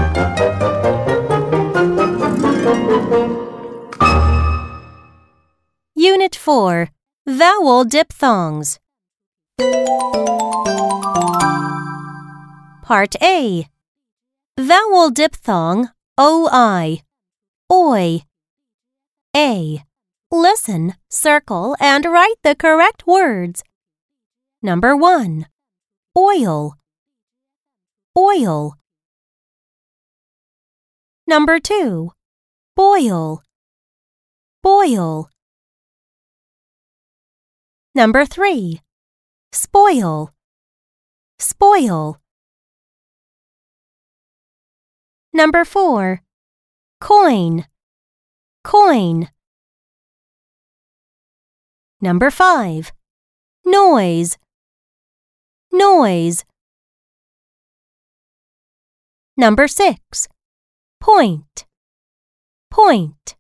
Unit 4. Vowel diphthongs. Part A. Vowel diphthong OI. Oi. A. Listen, circle, and write the correct words. Number 1. Oil. Oil. Number 2. Boil. Boil. Number 3. Spoil. Spoil. Number 4. Coin. Coin. Number 5. Noise. Noise. Number 6. Point. Point.